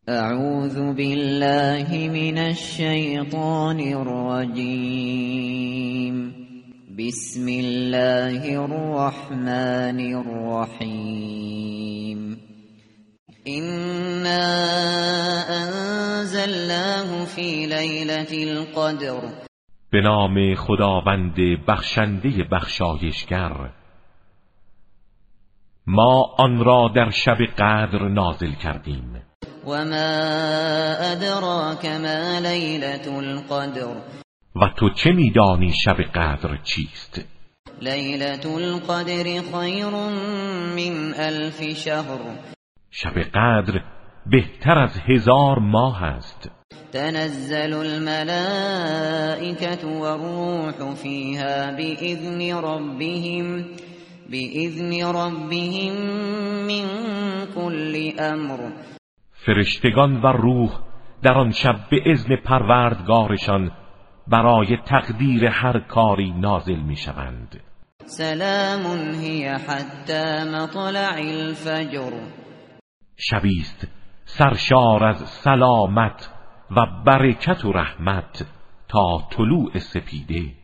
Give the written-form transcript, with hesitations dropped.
اعوذ بالله من الشیطان الرجیم. بسم الله الرحمن الرحیم. إنا أنزلناه في ليلة القدر. به نام خداوند بخشنده بخشایشگر. ما آن را در شب قدر نازل کردیم. و ما ادراک ما لیلة القدر. و تو چه میدانی شب قدر چیست؟ لیلة القدر خیر من 1000 شهر. شب قدر بهتر از 1000 ماه است. تنزل الملائكة والروح فيها بإذن ربهم من كل امر. فرشتگان و روح در آن شب به اذن پروردگارشان برای تقدیر هر کاری نازل میشوند. سلام هی حتی مطلع الفجر. شبیست سرشار از سلامت و برکت و رحمت تا طلوع سپیده.